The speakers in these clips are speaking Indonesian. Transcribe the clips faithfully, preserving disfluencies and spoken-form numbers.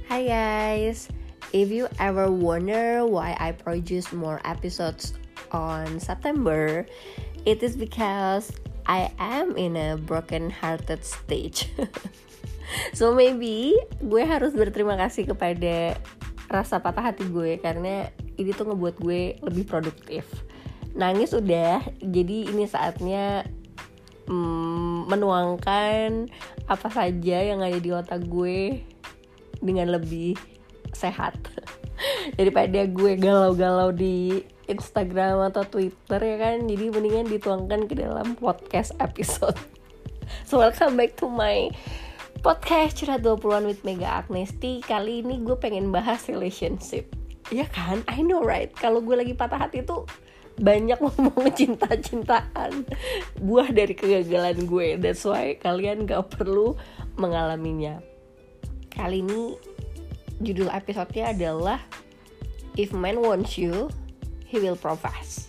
Hi guys, if you ever wonder why I produce more episodes on September, it is because I am in a broken hearted stage. So maybe gue harus berterima kasih kepada rasa patah hati gue, karena ini tuh ngebuat gue lebih produktif. Nangis udah, jadi ini saatnya mm, menuangkan apa saja yang ada di otak gue dengan lebih sehat daripada gue galau-galau di Instagram atau Twitter, ya kan. Jadi mendingan dituangkan ke dalam podcast episode. So welcome back to my podcast Curhat dua puluhan with Mega Agnesti. Kali ini gue pengen bahas relationship. Ya kan, I know right. Kalau gue lagi patah hati tuh banyak ngomong cinta-cintaan, buah dari kegagalan gue. That's why kalian gak perlu mengalaminya. Kali ini judul episode-nya adalah If Man Wants You, He Will Provide.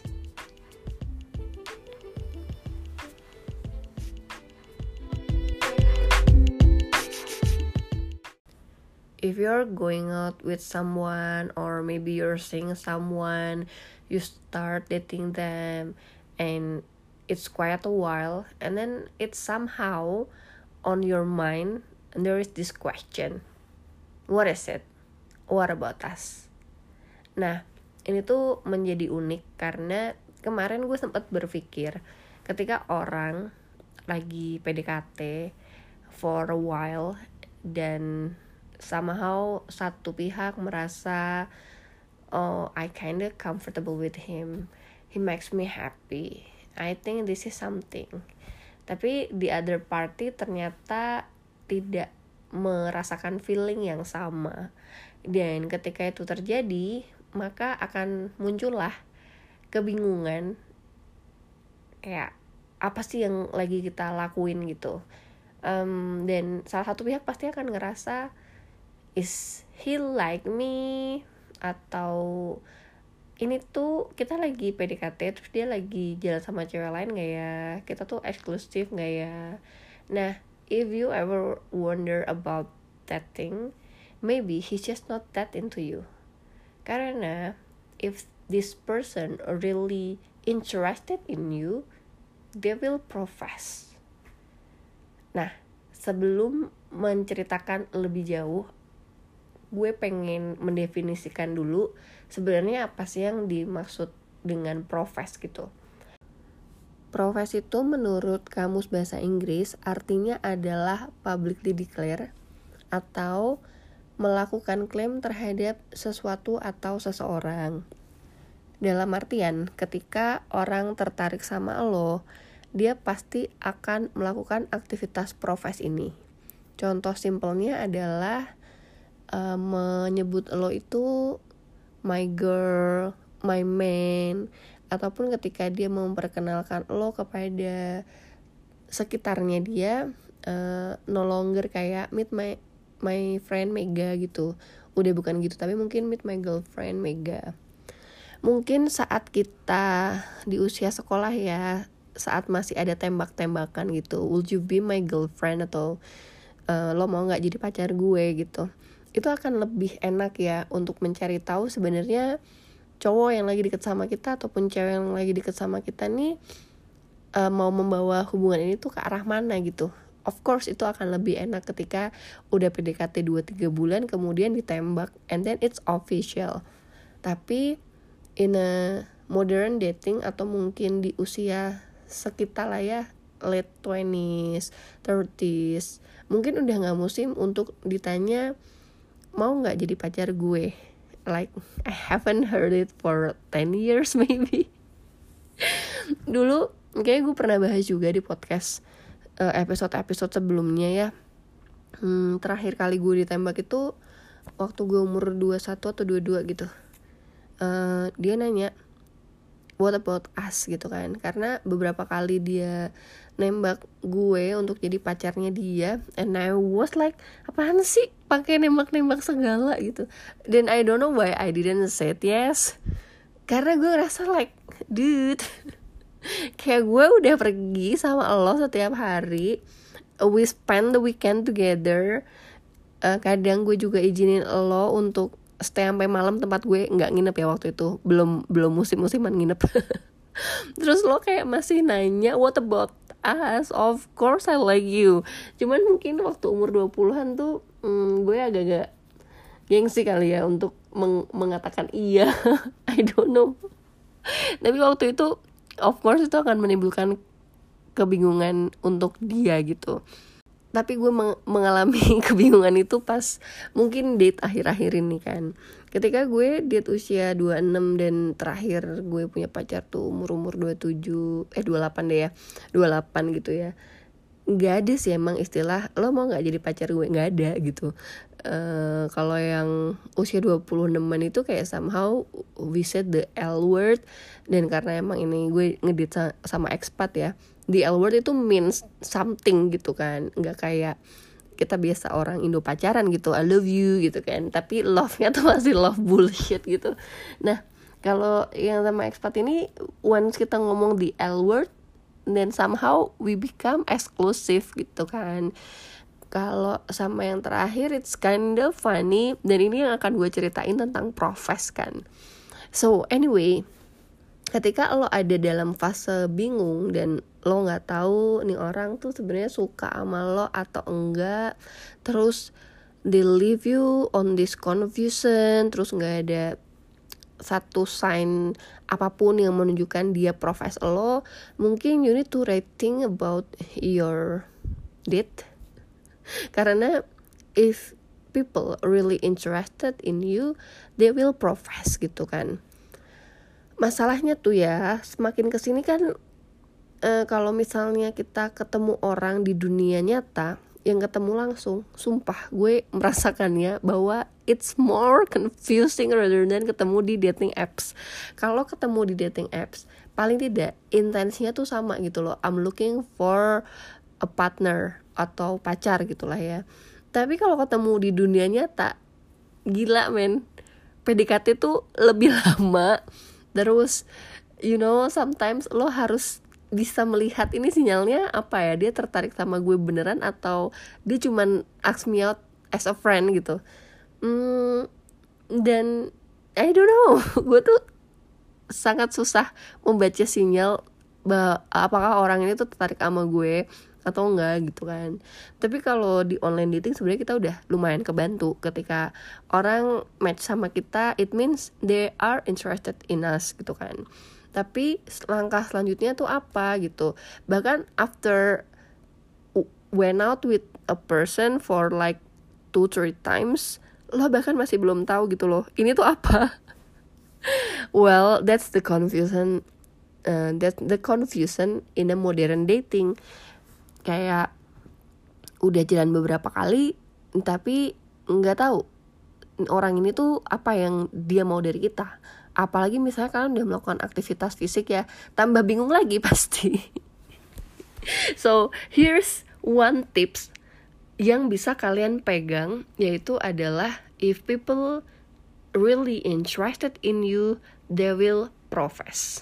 If you're going out with someone, or maybe you're seeing someone, you start dating them and it's quite a while, and then it's somehow on your mind and there is this question, what is it? What about us? Nah, ini tuh menjadi unik karena kemarin gue sempat berpikir ketika orang lagi P D K T for a while dan somehow satu pihak merasa, oh, I kinda comfortable with him, he makes me happy, I think this is something. Tapi the other party ternyata tidak merasakan feeling yang sama. Dan ketika itu terjadi, maka akan muncullah kebingungan, kayak apa sih yang lagi kita lakuin gitu. um, Dan salah satu pihak pasti akan ngerasa, is he like me? Atau ini tuh kita lagi P D K T terus dia lagi jalan sama cewek lain gak ya? Kita tuh eksklusif gak ya? Nah, if you ever wonder about that thing, maybe he's just not that into you. Karena if this person really interested in you, they will profess. Nah, sebelum menceritakan lebih jauh, gue pengen mendefinisikan dulu sebenarnya apa sih yang dimaksud dengan profess gitu. Profess itu menurut Kamus Bahasa Inggris artinya adalah publicly declare atau melakukan klaim terhadap sesuatu atau seseorang. Dalam artian ketika orang tertarik sama lo, dia pasti akan melakukan aktivitas profess ini. Contoh simpelnya adalah uh, menyebut lo itu my girl, my man, ataupun ketika dia memperkenalkan lo kepada sekitarnya dia, uh, no longer kayak meet my my friend Mega gitu, udah bukan gitu, tapi mungkin meet my girlfriend Mega. Mungkin saat kita di usia sekolah ya, saat masih ada tembak-tembakan gitu, would you be my girlfriend, atau uh, lo mau nggak jadi pacar gue gitu, itu akan lebih enak ya untuk mencari tahu sebenarnya cowok yang lagi deket sama kita ataupun cewek yang lagi deket sama kita nih uh, mau membawa hubungan ini tuh ke arah mana gitu. Of course itu akan lebih enak ketika udah P D K T dua tiga bulan kemudian ditembak and then it's official. Tapi in a modern dating atau mungkin di usia sekitar lah ya, late twenties, thirties, mungkin udah gak musim untuk ditanya mau gak jadi pacar gue. Like, I haven't heard it for ten years maybe. Dulu, kayaknya gue pernah bahas juga di podcast uh, episode-episode sebelumnya ya. Hmm, terakhir kali gue ditembak itu waktu gue umur dua puluh satu atau dua puluh dua gitu. Uh, dia nanya, what about us gitu kan. Karena beberapa kali dia nembak gue untuk jadi pacarnya dia, and I was like, apaan sih pakai nembak-nembak segala gitu. Dan I don't know why I didn't say yes, karena gue ngerasa like, dude, kayak gue udah pergi sama lo setiap hari, we spend the weekend together, uh, kadang gue juga izinin lo untuk stay sampai malam tempat gue, nggak nginep ya waktu itu, belum belum musim-musiman nginep. Terus lo kayak masih nanya what about us, of course I like you. Cuman mungkin waktu umur dua puluhan tuh hmm, gue agak-agak gengsi kali ya untuk meng- mengatakan iya. I don't know. Tapi waktu itu of course itu akan menimbulkan kebingungan untuk dia gitu. Tapi gue meng- mengalami kebingungan itu pas mungkin date akhir-akhir ini kan. Ketika gue date usia dua puluh enam dan terakhir gue punya pacar tuh umur-umur dua puluh tujuh, eh dua puluh delapan deh ya, dua puluh delapan gitu ya. Gak ada sih emang istilah lo mau gak jadi pacar gue, gak ada gitu. Uh, kalau yang usia dua puluh enaman itu kayak somehow we said the L word. Dan karena emang ini gue ngedate sama expat ya, the L word itu means something gitu kan, gak kayak kita biasa orang Indo pacaran gitu, I love you gitu kan, tapi love-nya tuh masih love bullshit gitu. Nah kalau yang sama expat ini, once kita ngomong the L word, then somehow we become exclusive gitu kan. Kalau sama yang terakhir it's kind of funny, dan ini yang akan gue ceritain tentang profes kan. So anyway, ketika lo ada dalam fase bingung dan lo nggak tahu nih orang tuh sebenarnya suka sama lo atau enggak, terus they leave you on this confusion, terus nggak ada satu sign apapun yang menunjukkan dia profes lo, mungkin you need to rethink about your date. Karena if people really interested in you, they will profess gitu kan. Masalahnya tuh ya, semakin kesini kan uh, kalau misalnya kita ketemu orang di dunia nyata, yang ketemu langsung, sumpah gue merasakannya bahwa it's more confusing rather than ketemu di dating apps. Kalau ketemu di dating apps, paling tidak intensinya tuh sama gitu loh, I'm looking for a partner atau pacar gitulah ya. Tapi kalau ketemu di dunia nyata, gila men, P D K T tuh lebih lama. Terus you know sometimes lo harus bisa melihat ini sinyalnya apa ya, dia tertarik sama gue beneran atau dia cuman ask me out as a friend gitu. hmm, Dan I don't know, gue tuh sangat susah membaca sinyal bahwa apakah orang ini tuh tertarik sama gue atau enggak gitu kan. Tapi kalau di online dating sebenarnya kita udah lumayan kebantu. Ketika orang match sama kita, it means they are interested in us gitu kan. Tapi langkah selanjutnya tuh apa gitu. Bahkan after went out with a person for like two three times, lo bahkan masih belum tahu gitu loh, ini tuh apa. Well, that's the confusion uh, that's the confusion in a modern dating. Kayak udah jalan beberapa kali tapi nggak tahu orang ini tuh apa yang dia mau dari kita. Apalagi misalnya kalian udah melakukan aktivitas fisik ya, tambah bingung lagi pasti. So here's one tips yang bisa kalian pegang, yaitu adalah if people really interested in you, they will profess.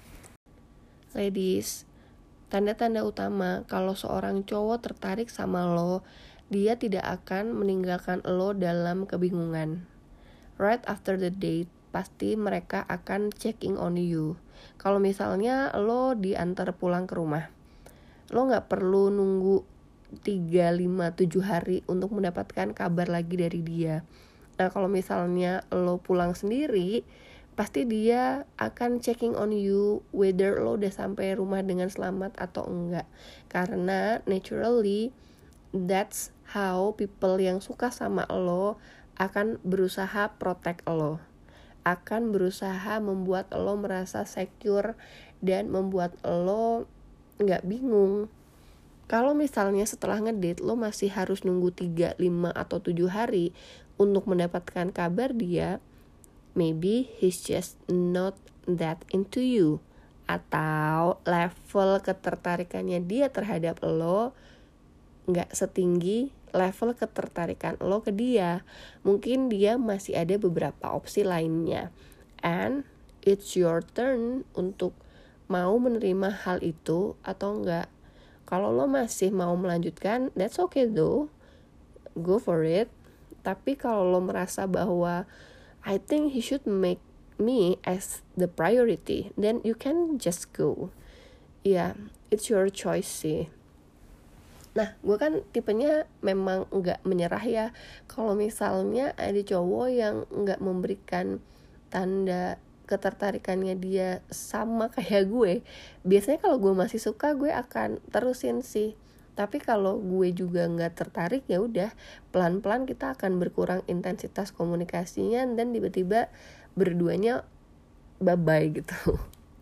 Ladies, tanda-tanda utama kalau seorang cowok tertarik sama lo, dia tidak akan meninggalkan lo dalam kebingungan. Right after the date, pasti mereka akan checking on you. Kalau misalnya lo diantar pulang ke rumah, lo gak perlu nunggu tiga, lima, tujuh hari untuk mendapatkan kabar lagi dari dia. Nah kalau misalnya lo pulang sendiri, pasti dia akan checking on you whether lo udah sampai rumah dengan selamat atau enggak. Karena naturally that's how people yang suka sama lo akan berusaha protect lo, akan berusaha membuat lo merasa secure dan membuat lo gak bingung. Kalau misalnya setelah ngedate lo masih harus nunggu tiga, lima, atau tujuh hari untuk mendapatkan kabar dia, maybe he's just not that into you, atau level ketertarikannya dia terhadap lo gak setinggi level ketertarikan lo ke dia. Mungkin dia masih ada beberapa opsi lainnya, and it's your turn untuk mau menerima hal itu atau enggak. Kalau lo masih mau melanjutkan, that's okay though, go for it. Tapi kalau lo merasa bahwa I think he should make me as the priority, then you can just go. Ya, yeah, it's your choice sih. Nah, gue kan tipenya memang nggak menyerah ya. Kalau misalnya ada cowok yang nggak memberikan tanda ketertarikannya dia sama kayak gue, biasanya kalau gue masih suka, gue akan terusin sih. Tapi kalau gue juga nggak tertarik, ya udah pelan-pelan kita akan berkurang intensitas komunikasinya, dan tiba-tiba berduanya bye-bye gitu.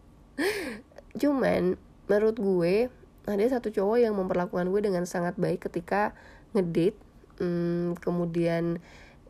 Cuman menurut gue ada satu cowok yang memperlakukan gue dengan sangat baik ketika ngedate. Hmm, kemudian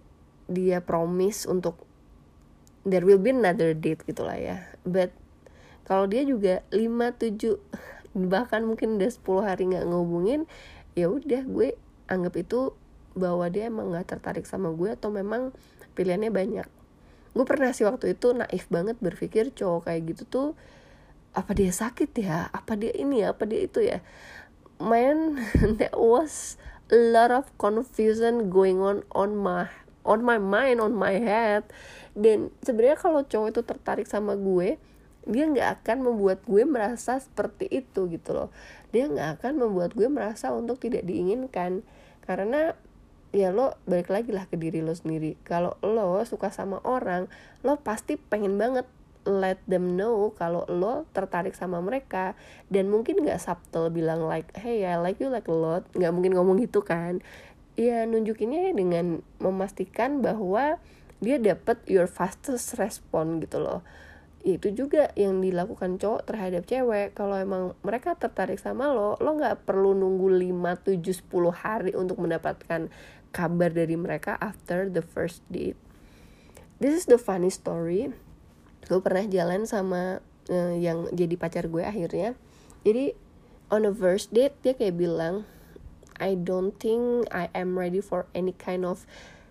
dia promise untuk there will be another date gitulah ya. But kalau dia juga lima tujuh bahkan mungkin udah sepuluh hari nggak ngehubungin, ya udah gue anggap itu bahwa dia emang nggak tertarik sama gue, atau memang pilihannya banyak. Gue pernah sih waktu itu naif banget berpikir cowok kayak gitu tuh apa dia sakit ya, apa dia ini ya, apa dia itu ya. Man, there was a lot of confusion going on on my on my mind, on my head. Dan sebenarnya kalau cowok itu tertarik sama gue, dia nggak akan membuat gue merasa seperti itu gitu loh. Dia nggak akan membuat gue merasa untuk tidak diinginkan, karena ya lo balik lagi lah ke diri lo sendiri. Kalau lo suka sama orang, lo pasti pengen banget let them know kalau lo tertarik sama mereka. Dan mungkin nggak subtle bilang like, hey I like you like a lot, nggak mungkin ngomong gitu kan. Ya nunjukinnya dengan memastikan bahwa dia dapat your fastest response gitu loh. Itu juga yang dilakukan cowok terhadap cewek. Kalau emang mereka tertarik sama lo, lo gak perlu nunggu lima, tujuh, sepuluh hari untuk mendapatkan kabar dari mereka after the first date. This is the funny story. Gue pernah jalan sama uh, yang jadi pacar gue akhirnya. Jadi on the first date dia kayak bilang, I don't think I am ready for any kind of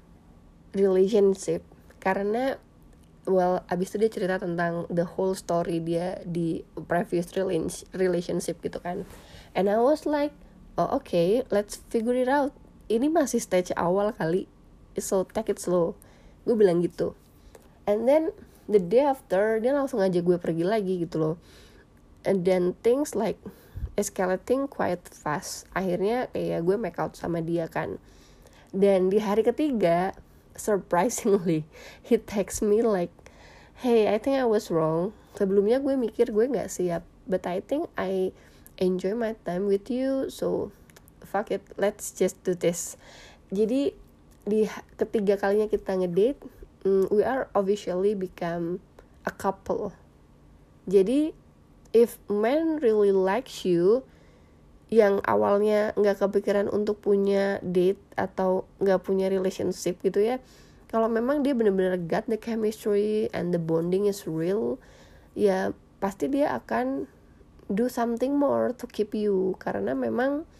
relationship. Karena well, abis itu dia cerita tentang the whole story dia di previous relationship gitu kan. And I was like, oh okay, let's figure it out. Ini masih stage awal kali, so take it slow. Gue bilang gitu. And then the day after dia langsung ngajak gue pergi lagi gitu loh. And then things like escalating quite fast. Akhirnya kayak gue make out sama dia kan. Dan di hari ketiga, surprisingly, he text me like, hey, I think I was wrong. Sebelumnya gue mikir gue gak siap, but I think I enjoy my time with you, so fuck it, let's just do this. Jadi di ketiga kalinya kita ngedate, um, we are officially become a couple. Jadi if man really likes you, yang awalnya gak kepikiran untuk punya date atau gak punya relationship gitu ya, kalau memang dia benar-benar got the chemistry and the bonding is real, ya pasti dia akan do something more to keep you. Karena memang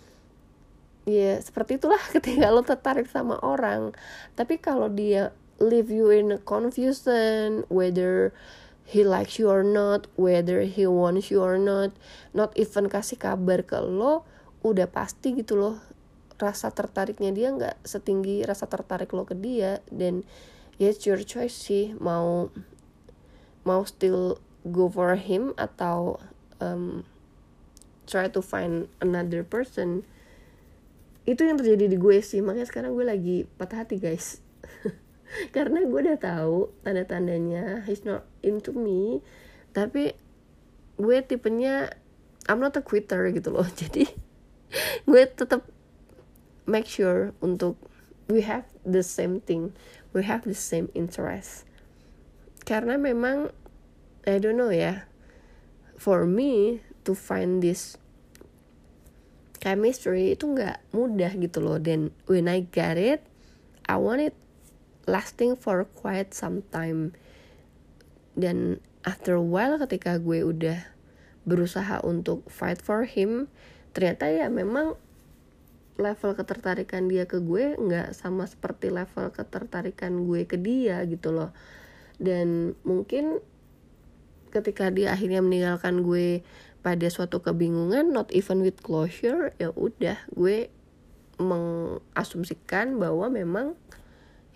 ya seperti itulah ketika lo tertarik sama orang. Tapi kalau dia leave you in a confusion whether he likes you or not, whether he wants you or not, not even kasih kabar ke lo, udah pasti gitu loh rasa tertariknya dia nggak setinggi rasa tertarik lo ke dia. Dan ya it's your choice sih, mau mau still go for him atau um, try to find another person. Itu yang terjadi di gue sih, makanya sekarang gue lagi patah hati guys. Karena gue udah tahu tanda-tandanya he's not into me, tapi gue tipenya I'm not a quitter gitu loh. Jadi gue tetap make sure untuk we have the same thing, we have the same interest. Karena memang I don't know ya, for me to find this chemistry itu nggak mudah gitu loh. Dan when I get it, I want it lasting for quite some time. Dan after a while ketika gue udah berusaha untuk fight for him, ternyata ya memang level ketertarikan dia ke gue nggak sama seperti level ketertarikan gue ke dia gitu loh. Dan mungkin ketika dia akhirnya meninggalkan gue pada suatu kebingungan, not even with closure, ya udah gue mengasumsikan bahwa memang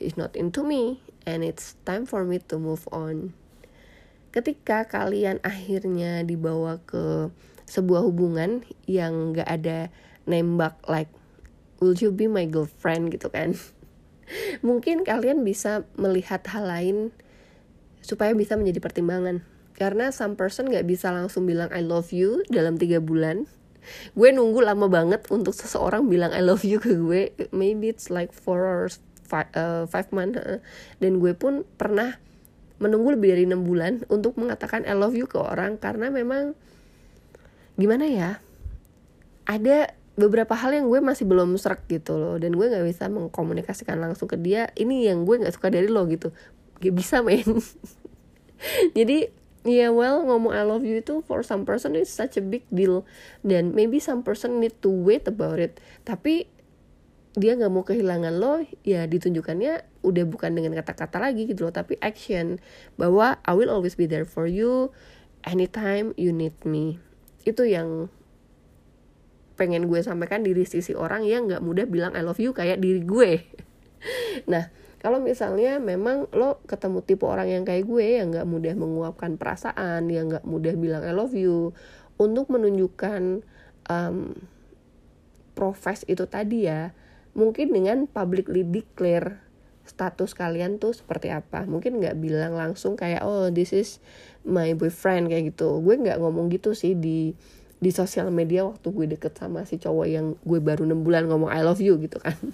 he's not into me, and it's time for me to move on. Ketika kalian akhirnya dibawa ke sebuah hubungan yang gak ada nembak like, will you be my girlfriend gitu kan, mungkin kalian bisa melihat hal lain supaya bisa menjadi pertimbangan. Karena some person gak bisa langsung bilang I love you dalam tiga bulan. Gue nunggu lama banget untuk seseorang bilang I love you ke gue. Maybe it's like four or five, uh, five months. Dan gue pun pernah menunggu lebih dari enam bulan untuk mengatakan I love you ke orang. Karena memang gimana ya, ada beberapa hal yang gue masih belum serak gitu loh. Dan gue gak bisa mengkomunikasikan langsung ke dia, ini yang gue gak suka dari lo gitu. Gak bisa men. Jadi ya yeah, well, ngomong I love you itu for some person is such a big deal. Dan maybe some person need to wait about it. Tapi dia gak mau kehilangan lo, ya ditunjukkannya udah bukan dengan kata-kata lagi gitu loh, tapi action. Bahwa I will always be there for you anytime you need me. Itu yang pengen gue sampaikan dari sisi orang yang gak mudah bilang I love you kayak diri gue. Nah, kalau misalnya memang lo ketemu tipe orang yang kayak gue, yang gak mudah menguapkan perasaan, yang gak mudah bilang I love you, untuk menunjukkan um, profes itu tadi ya, mungkin dengan publicly declare status kalian tuh seperti apa. Mungkin gak bilang langsung kayak, oh this is my boyfriend kayak gitu. Gue gak ngomong gitu sih di di sosial media waktu gue deket sama si cowok yang gue baru enam bulan ngomong I love you gitu kan.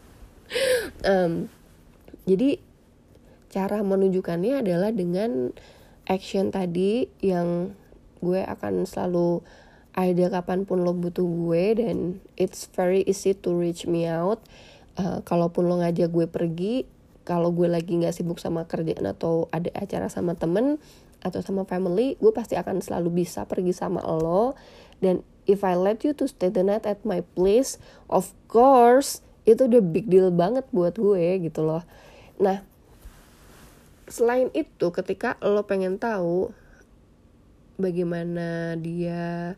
um, Jadi cara menunjukkannya adalah dengan action tadi yang gue akan selalu ada kapanpun lo butuh gue, dan it's very easy to reach me out. Uh, kalaupun lo ngajak gue pergi, kalau gue lagi gak sibuk sama kerjaan atau ada acara sama temen atau sama family, gue pasti akan selalu bisa pergi sama lo. Dan if I let you to stay the night at my place, of course itu udah big deal banget buat gue gitu loh. Nah, selain itu ketika lo pengen tahu bagaimana dia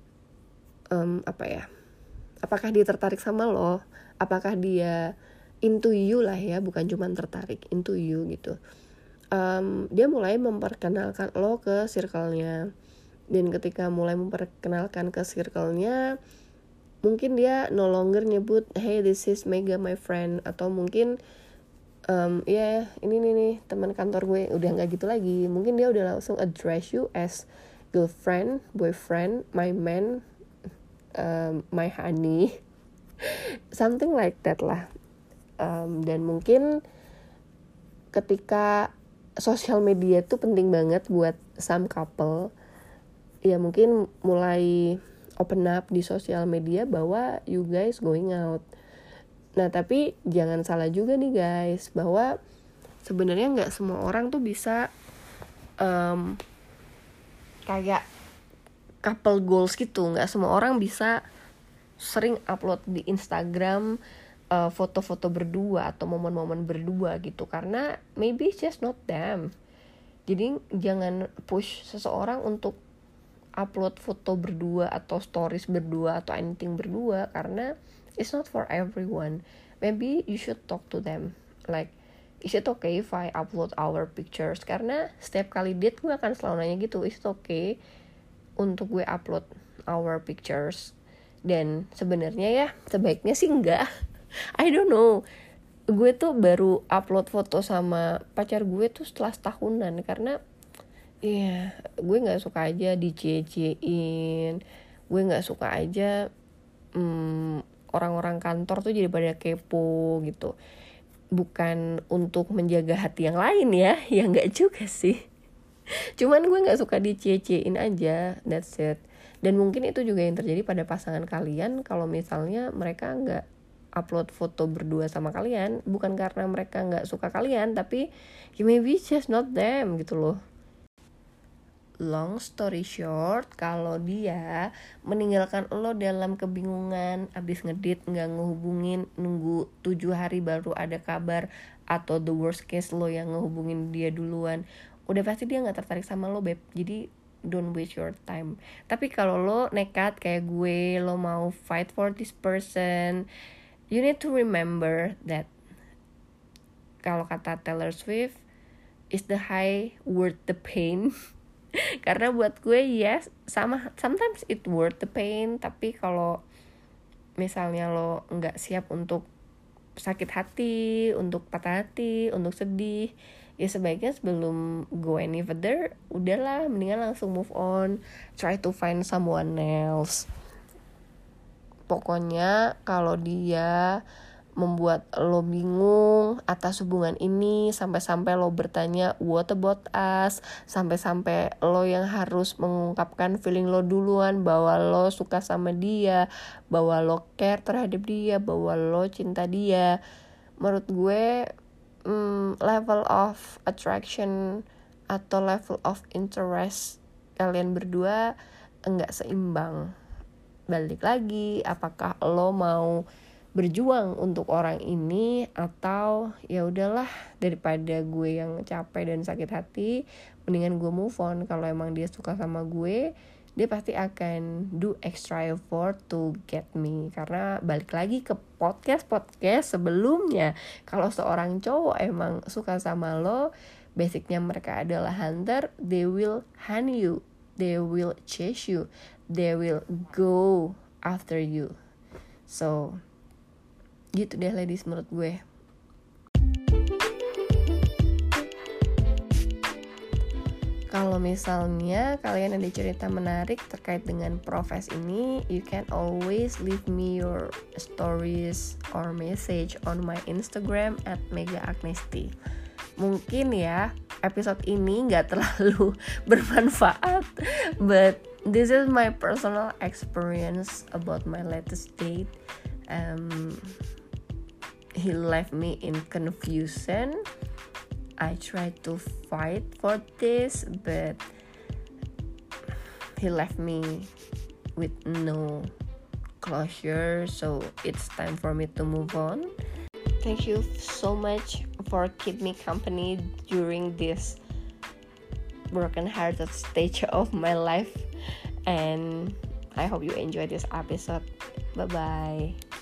um, apa ya, apakah dia tertarik sama lo, apakah dia into you lah ya, bukan cuma tertarik, into you gitu. Um, dia mulai memperkenalkan lo ke circle-nya. Dan ketika mulai memperkenalkan ke circle-nya, mungkin dia no longer nyebut hey this is Mega my friend, atau mungkin um, ya yeah, ini nih nih teman kantor gue, udah nggak gitu lagi. Mungkin dia udah langsung address you as girlfriend, boyfriend, my man, um, my honey, something like that lah. Um, dan mungkin ketika sosial media itu penting banget buat some couple, ya mungkin mulai open up di sosial media bahwa you guys going out. Nah tapi jangan salah juga nih guys, bahwa sebenarnya nggak semua orang tuh bisa um, kayak couple goals gitu. Nggak semua orang bisa sering upload di Instagram uh, foto-foto berdua atau momen-momen berdua gitu, karena maybe it's just not them. Jadi jangan push seseorang untuk upload foto berdua atau stories berdua atau anything berdua, karena it's not for everyone. Maybe you should talk to them like, is it okay if I upload our pictures? Karena setiap kali date gue akan selalu nanya gitu, is it okay untuk gue upload our pictures? Dan sebenarnya ya sebaiknya sih enggak. I don't know, gue tuh baru upload foto sama pacar gue tuh setelah setahunan, karena iya, yeah, gue nggak suka aja dicie-ciein, gue nggak suka aja hmm, orang-orang kantor tuh jadi pada kepo gitu. Bukan untuk menjaga hati yang lain ya, ya nggak juga sih. Cuman gue nggak suka dicie-ciein aja, that's it. Dan mungkin itu juga yang terjadi pada pasangan kalian kalau misalnya mereka nggak upload foto berdua sama kalian, bukan karena mereka nggak suka kalian, tapi maybe just not them gitu loh. Long story short, kalau dia meninggalkan lo dalam kebingungan, abis ngedit gak ngehubungin, nunggu tujuh hari baru ada kabar, atau the worst case lo yang ngehubungin dia duluan, udah pasti dia gak tertarik sama lo beb. Jadi don't waste your time. Tapi kalau lo nekat kayak gue, lo mau fight for this person, you need to remember that kalau kata Taylor Swift, is the high worth the pain. Karena buat gue yes, sama sometimes it worth the pain, tapi kalau misalnya lo nggak siap untuk sakit hati, untuk patah hati, untuk sedih, ya sebaiknya sebelum go any further, udahlah mendingan langsung move on, try to find someone else. Pokoknya kalau dia membuat lo bingung atas hubungan ini, sampai-sampai lo bertanya what about us, sampai-sampai lo yang harus mengungkapkan feeling lo duluan bahwa lo suka sama dia, bahwa lo care terhadap dia, bahwa lo cinta dia. Menurut gue hmm, level of attraction atau level of interest kalian berdua enggak seimbang. Balik lagi, apakah lo mau berjuang untuk orang ini, atau ya udahlah daripada gue yang capek dan sakit hati, mendingan gue move on. Kalau emang dia suka sama gue, dia pasti akan do extra effort to get me. Karena balik lagi ke podcast-podcast sebelumnya, kalau seorang cowok emang suka sama lo, basicnya mereka adalah hunter. They will hunt you, they will chase you, they will go after you. So gitu deh ladies menurut gue. Kalau misalnya kalian ada cerita menarik terkait dengan Profes ini, you can always leave me your stories or message on my Instagram at mega agnesti. Mungkin ya episode ini gak terlalu bermanfaat, but this is my personal experience about my latest date. Um, he left me in confusion. I tried to fight for this, but he left me with no closure, so it's time for me to move on. Thank you so much for keep me company during this broken-hearted stage of my life, and I hope you enjoy this episode. Bye-bye.